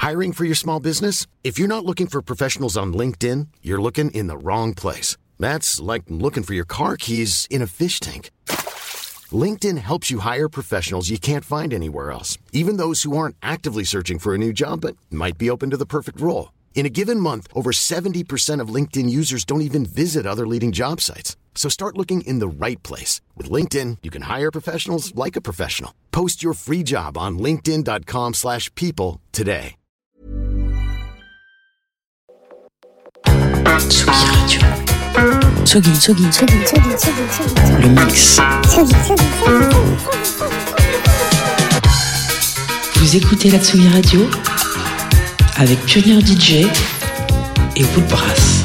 Hiring for your small business? If you're not looking for professionals on LinkedIn, you're looking in the wrong place. That's like looking for your car keys in a fish tank. LinkedIn helps you hire professionals you can't find anywhere else, even those who aren't actively searching for a new job but might be open to the perfect role. In a given month, over 70% of LinkedIn users don't even visit other leading job sites. So start looking in the right place. With LinkedIn, you can hire professionals like a professional. Post your free job on linkedin.com/people today. Tsugi Radio. Tsugi. Le mix. Vous écoutez la Tsugi Radio avec Pionnier DJ et Woodbrass.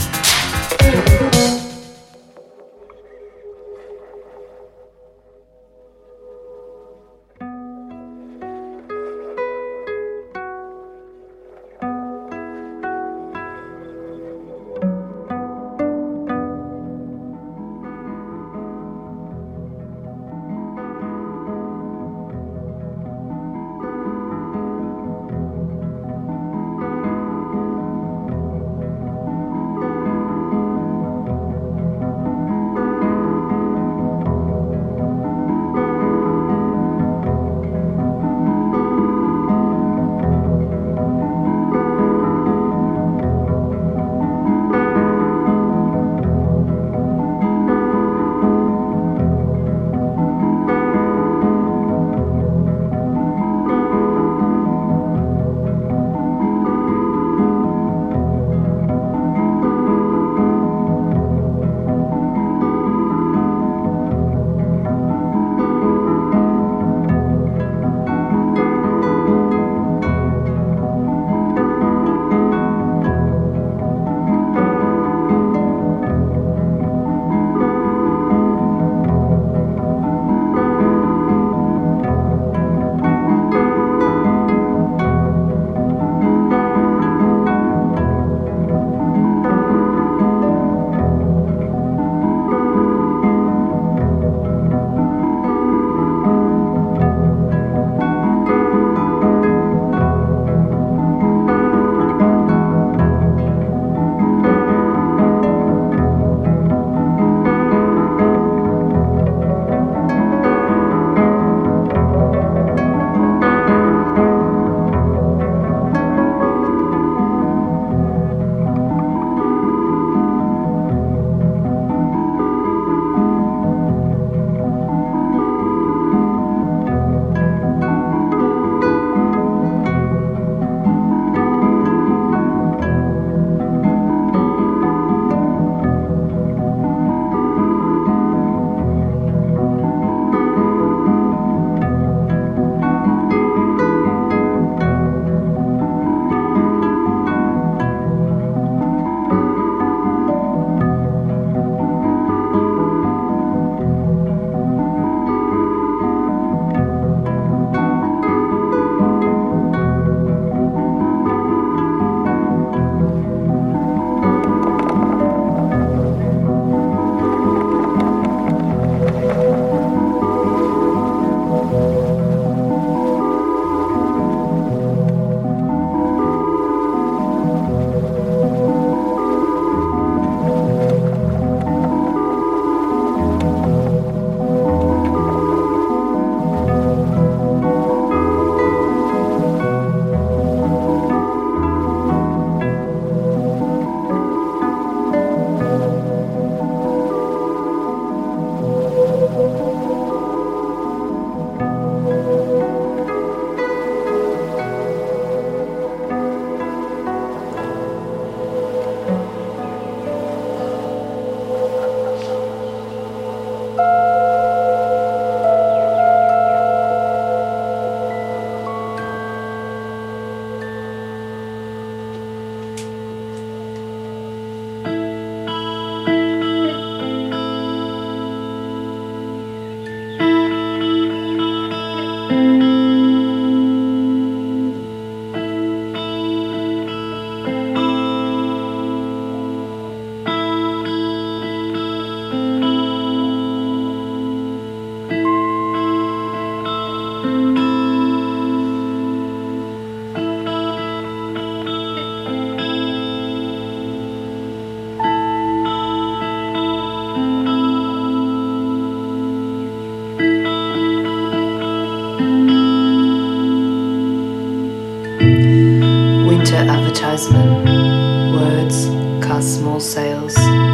Printer advertisement, words cast small sails.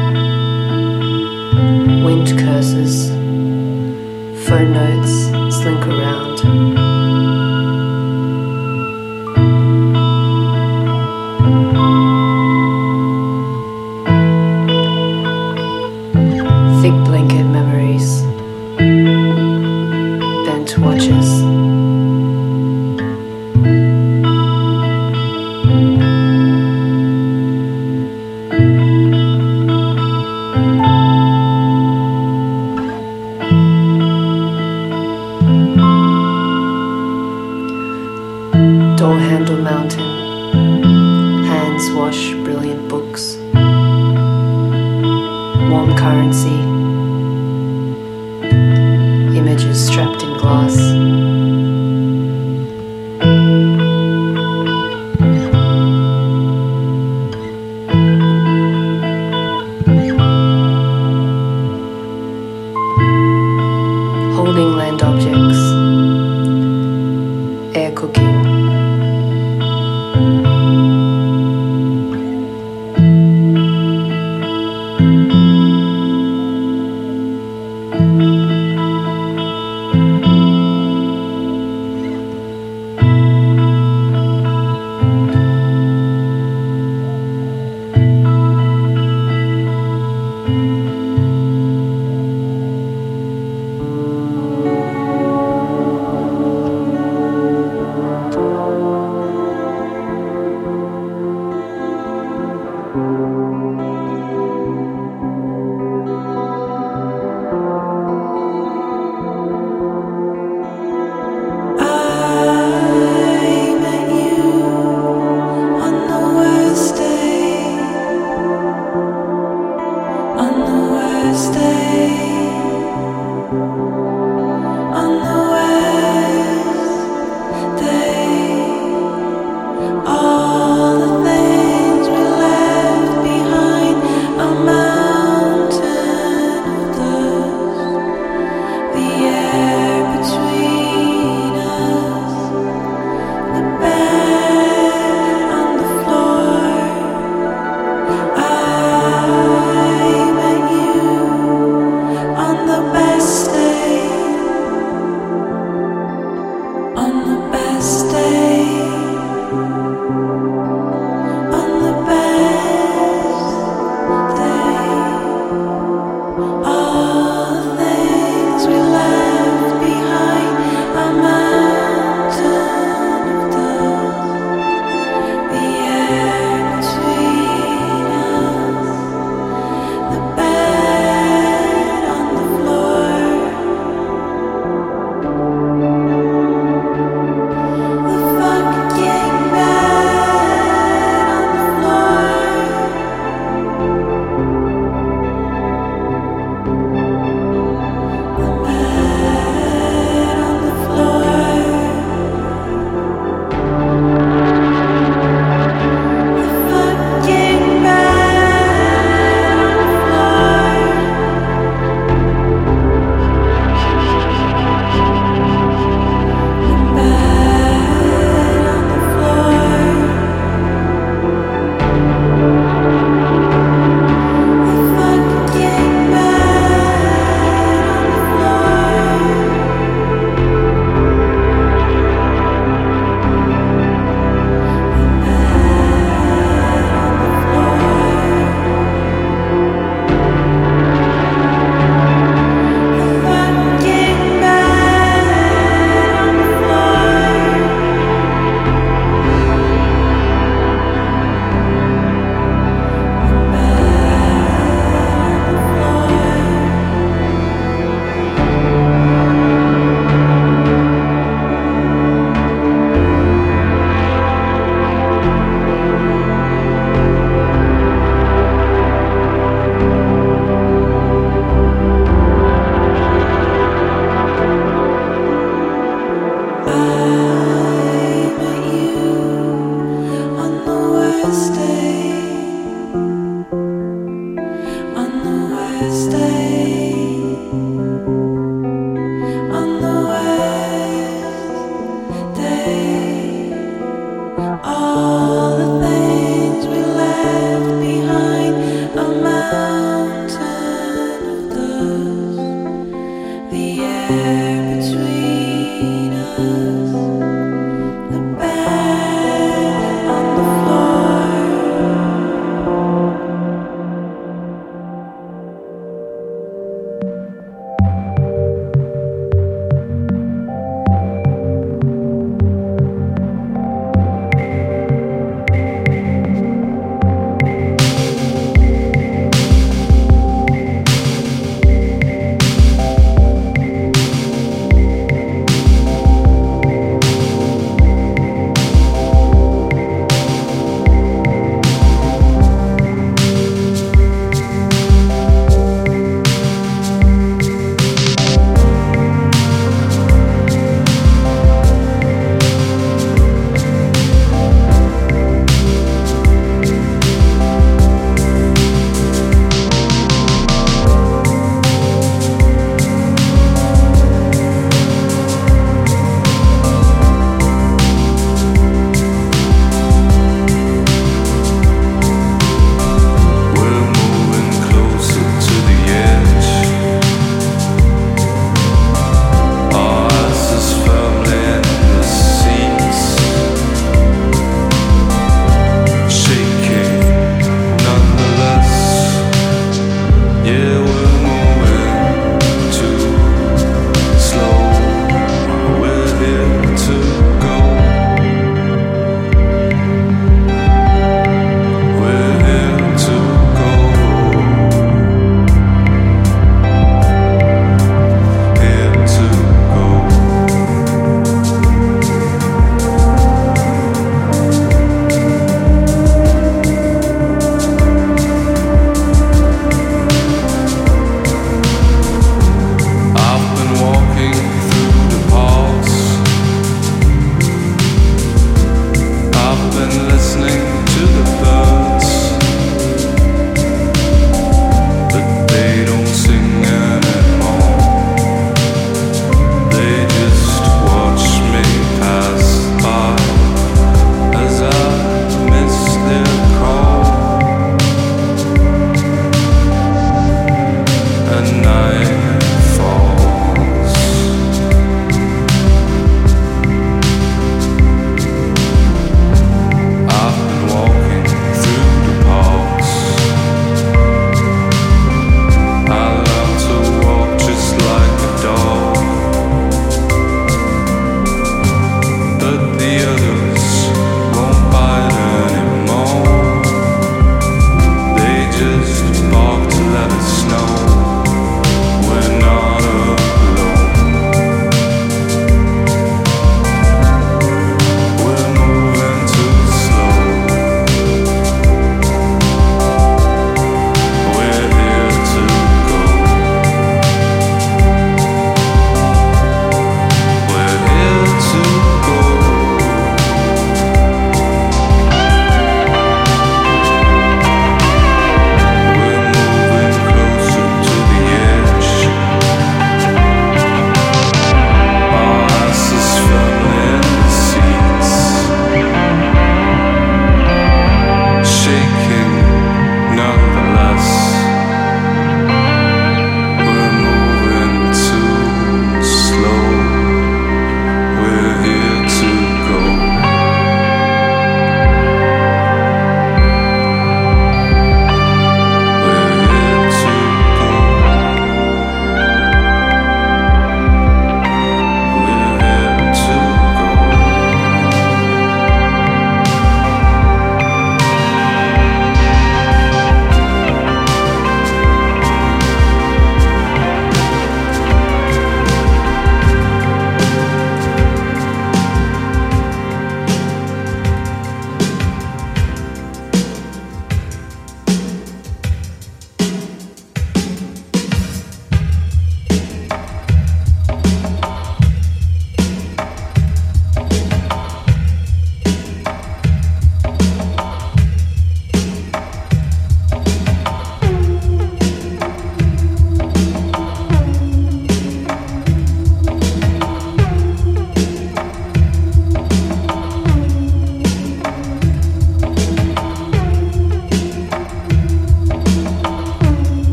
Wind curses, phone notes slink around. Thick blanket memories, bent watches. Door handle mountain, hands wash brilliant books. Warm currency, images strapped in glass. Holding land objects, air cooking.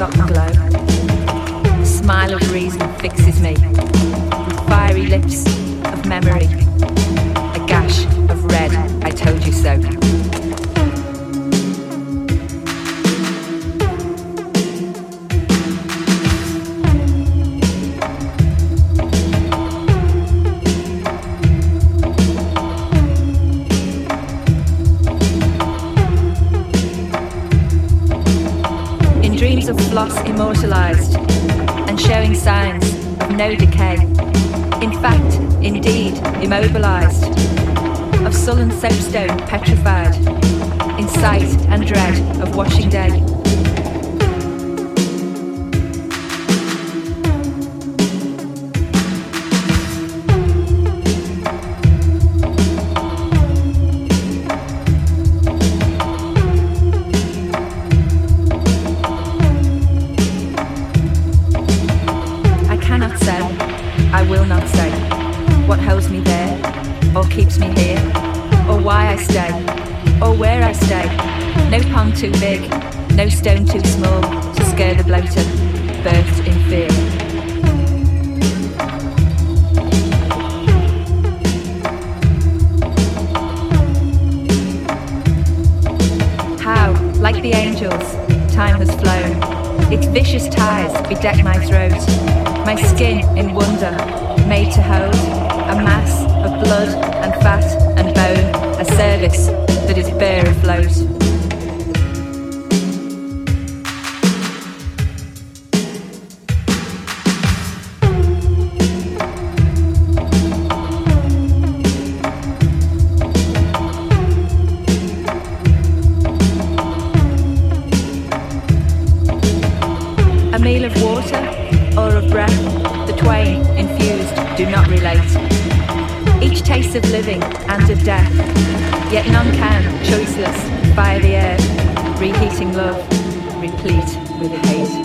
forgotten glow. The smile of reason fixes me with fiery lips of memory. A gash of red, I told you so. Of floss immortalized and showing signs of no decay. In fact, indeed, immobilized. Of sullen soapstone petrified in sight and dread of washing day. Keeps me here, or why I stay, or where I stay. No pond too big, no stone too small to scare the bloater, birthed in fear. How, like the angels, time has flown. Its vicious ties bedeck my throat, my skin in wonder, made to hold a mass of blood and fat and bone, a service that is bare afloat. A meal of water or of breath, the twain infused do not relate. Each tastes of living and of death, yet none can, choiceless, fire the air, reheating love, replete with hate.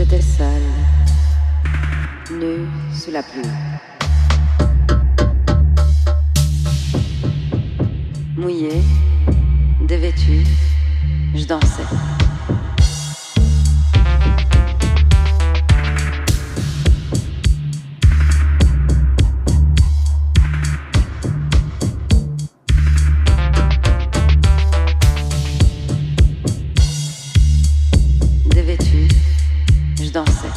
J'étais seule, nue sous la pluie. Mouillée, dévêtue, je dansais. Dévêtue, je dansais.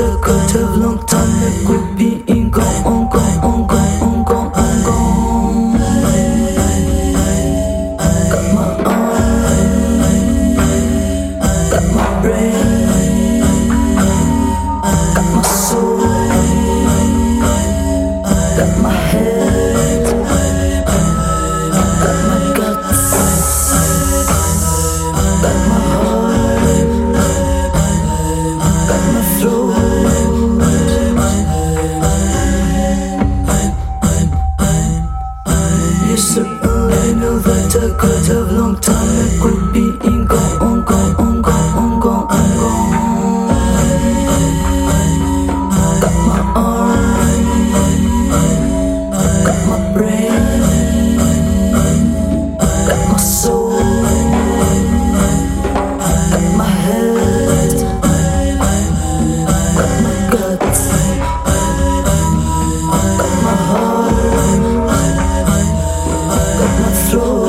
I could have long time. It could be in gone, on gone, on gone, on gone, on gone. Got my arm, got my brain, got my soul, got my head, got my guts, got my heart, got my throat. You certainly know that I could have long time. It could be in gone, on gone, on gone, on gone, on gone. Got my arm, got my brain, got my soul, got my head, got my guts, got my heart, got my throat.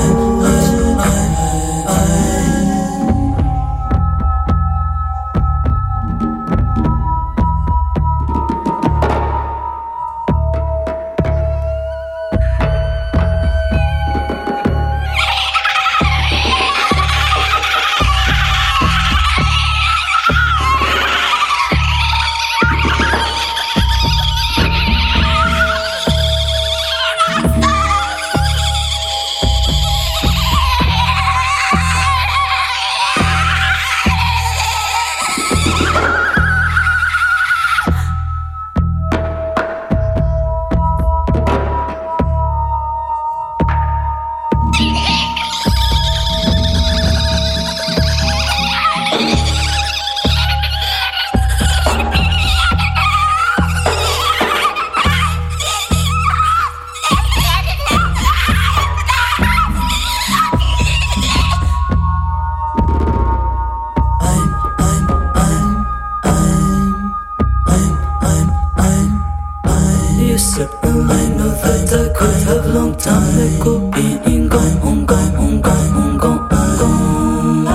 You certainly know that I could have long time. It could be in gone, on gone, on gone, on gone, on gone.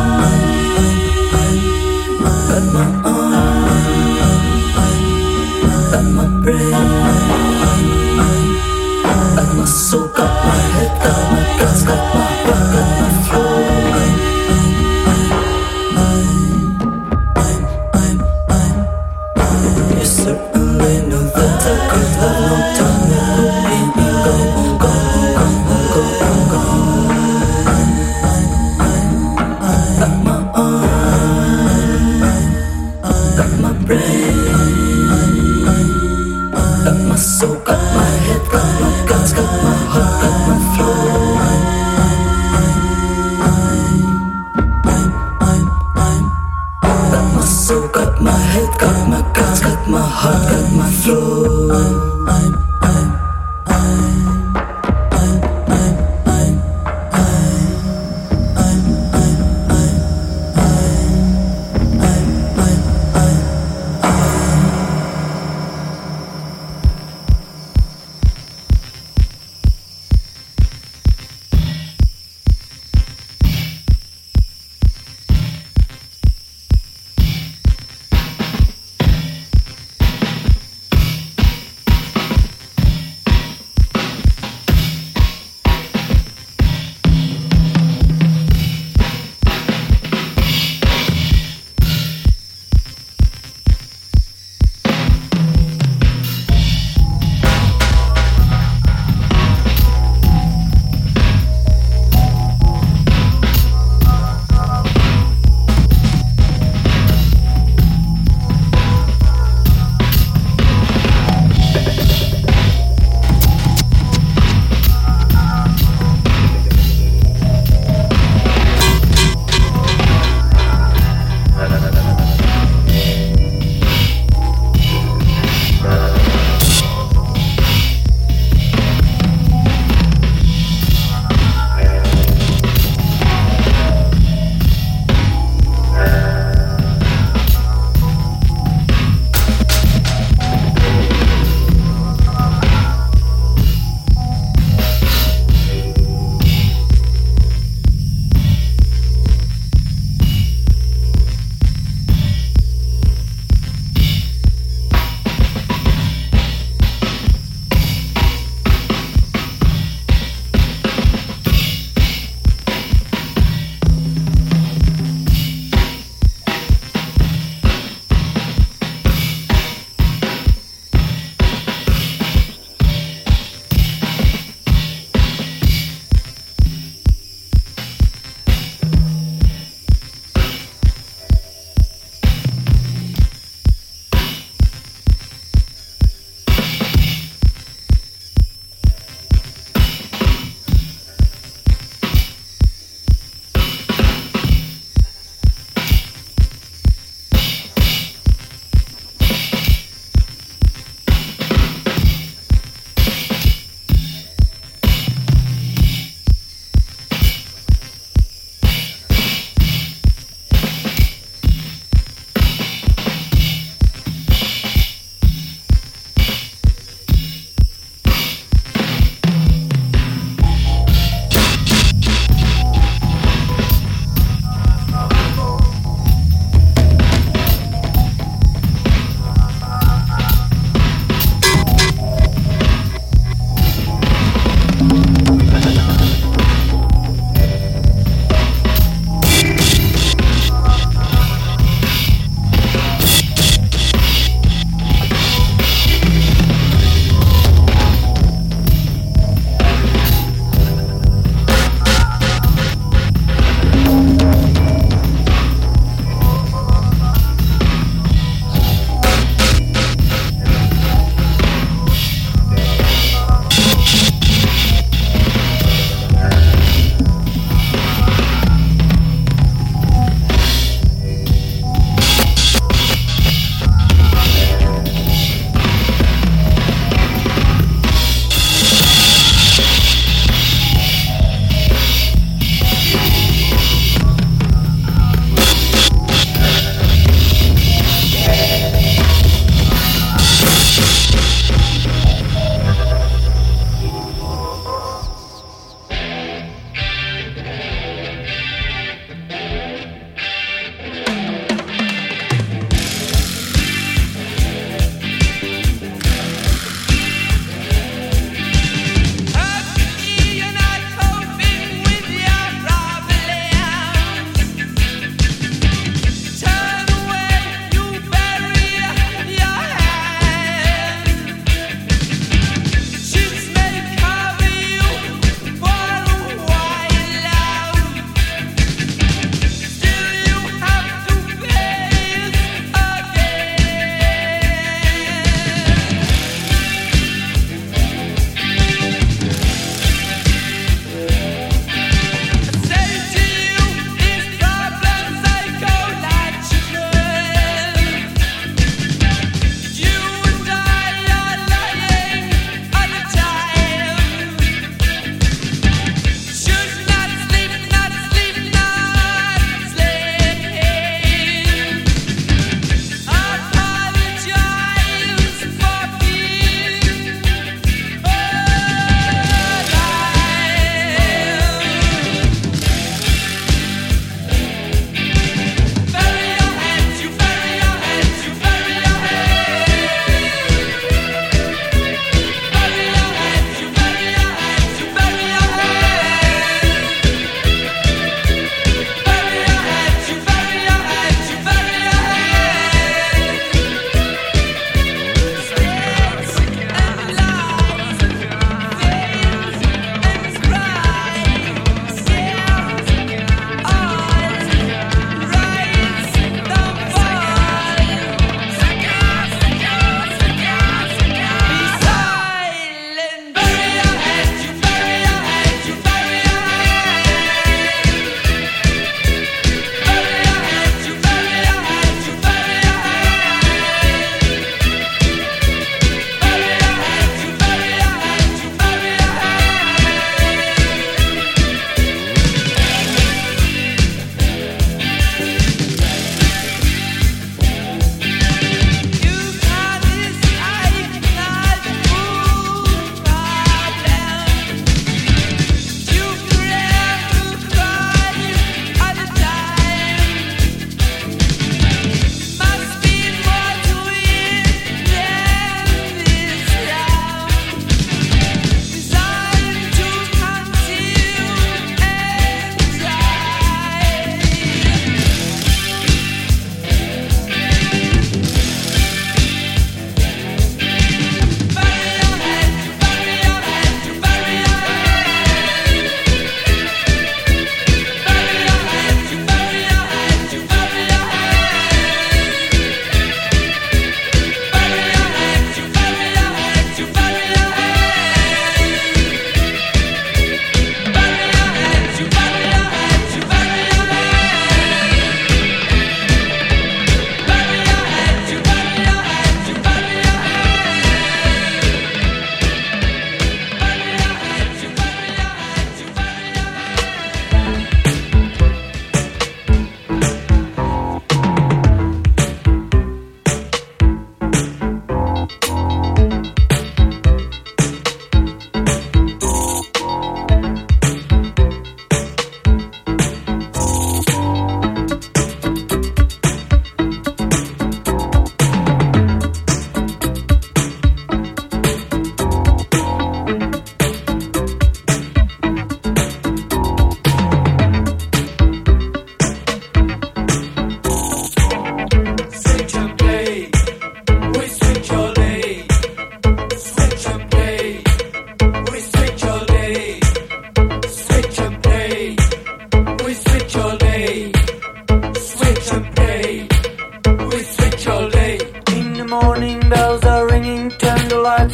Got my arm, got my brain, got my soul, got my head, got my guts, got my heart, got my throat. You certainly know that I could have long time. It could be in gone, on gone, on gone, on gone, on gone. Got my arm, got my brain, got my soul, got my head, got my guts, got my heart, got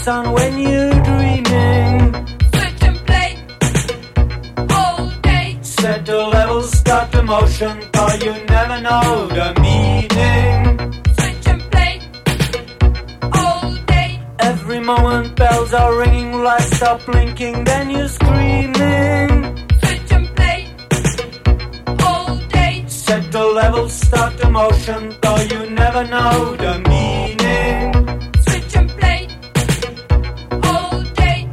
lights on when you're dreaming. Switch and play all day. Set the levels, start the motion, or you never know the meaning. Switch and play all day. Every moment bells are ringing, lights stop blinking, then you're screaming. Switch and play all day. Set the levels, start the motion, though you never know the meaning. Switch and play all day.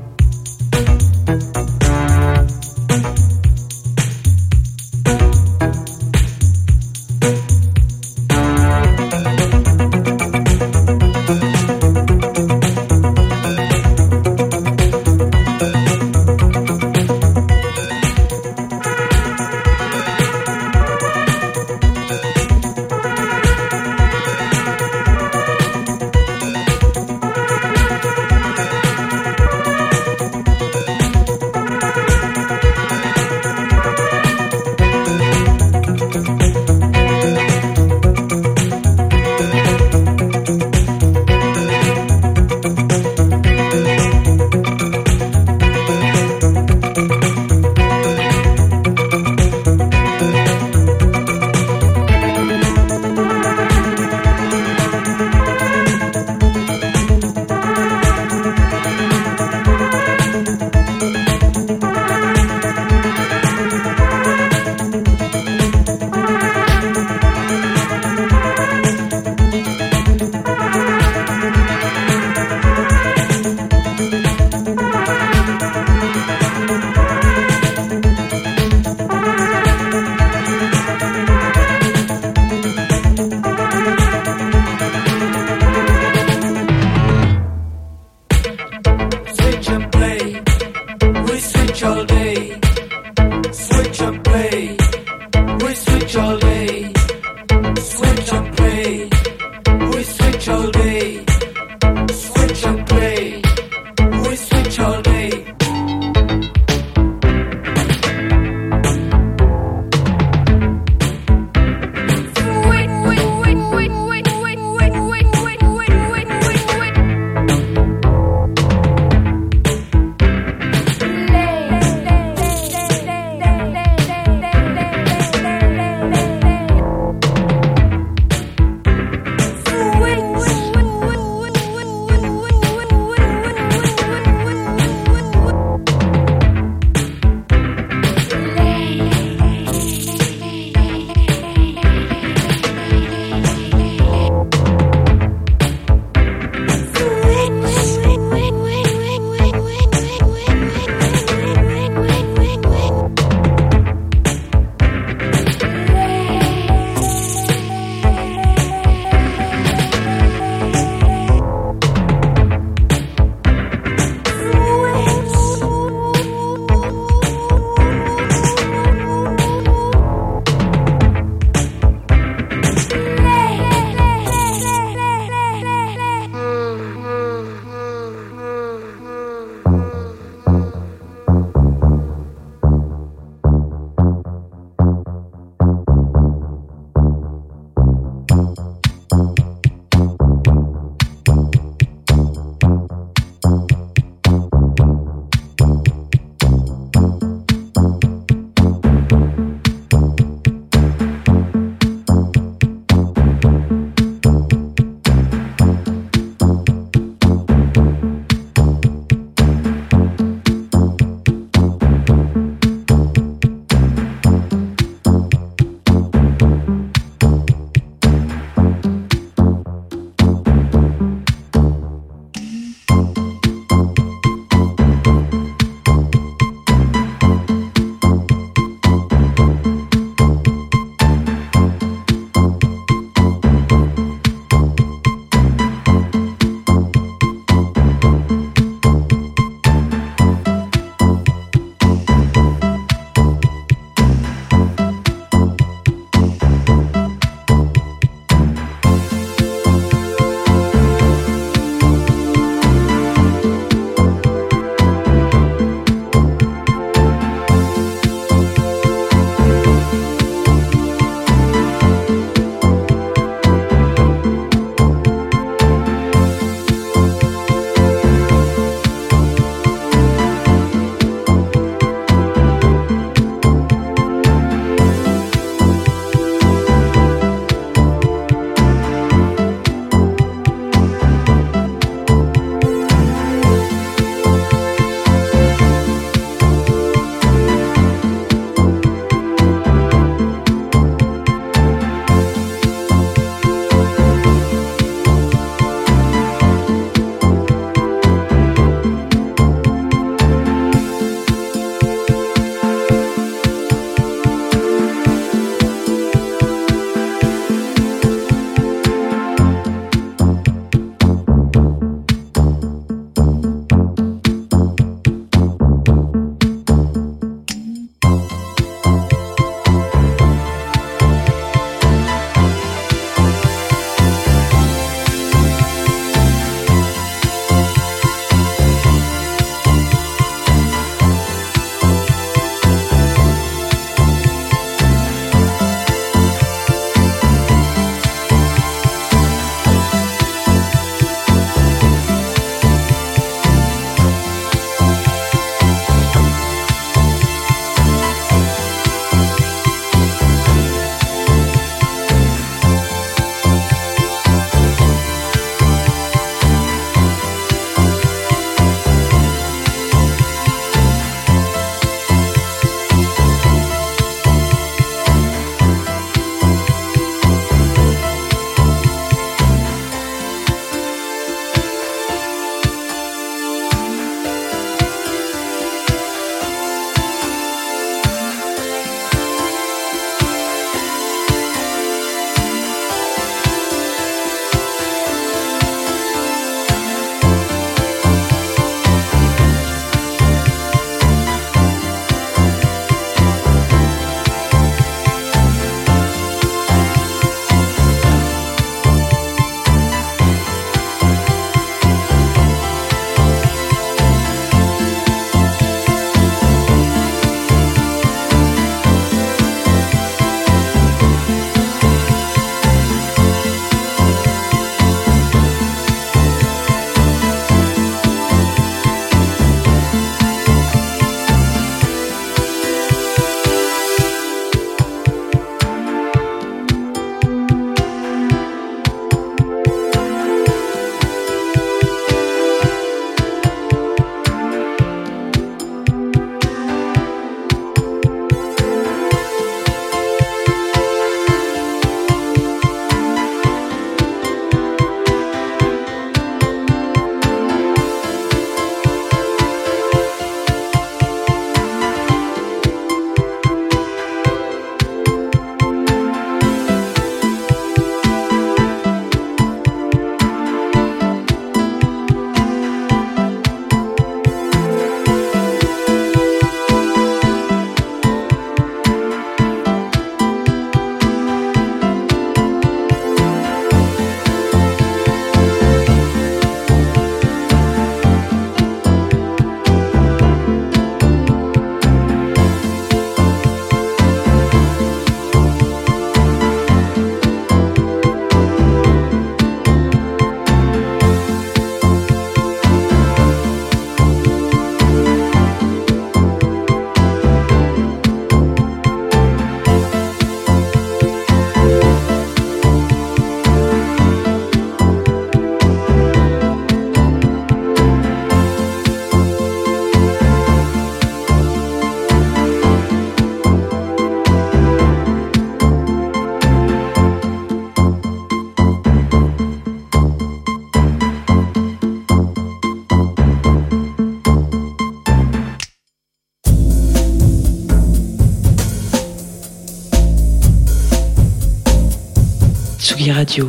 Tsugi Radio.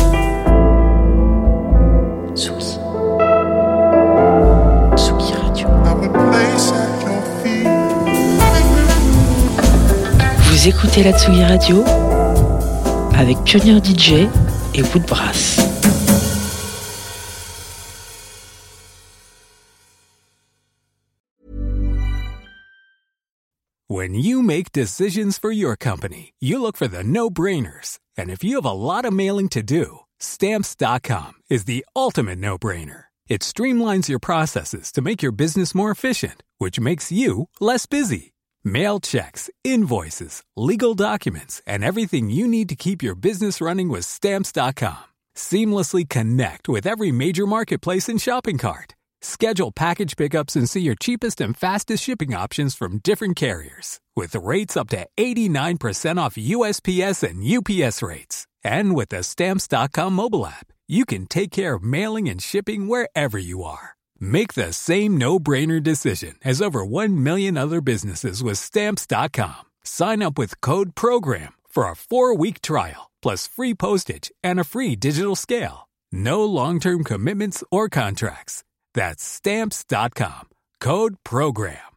Tsugi. Tsugi Radio. Vous écoutez la Tsugi Radio avec Pionnier DJ et Woodbrass. When you make decisions for your company, you look for the no-brainers. And if you have a lot of mailing to do, Stamps.com is the ultimate no-brainer. It streamlines your processes to make your business more efficient, which makes you less busy. Mail checks, invoices, legal documents, and everything you need to keep your business running with Stamps.com. Seamlessly connect with every major marketplace and shopping cart. Schedule package pickups and see your cheapest and fastest shipping options from different carriers, with rates up to 89% off USPS and UPS rates. And with the Stamps.com mobile app, you can take care of mailing and shipping wherever you are. Make the same no-brainer decision as over 1 million other businesses with Stamps.com. Sign up with code PROGRAM for a 4-week trial, plus free postage and a free digital scale. No long-term commitments or contracts. That's Stamps.com. Code PROGRAM.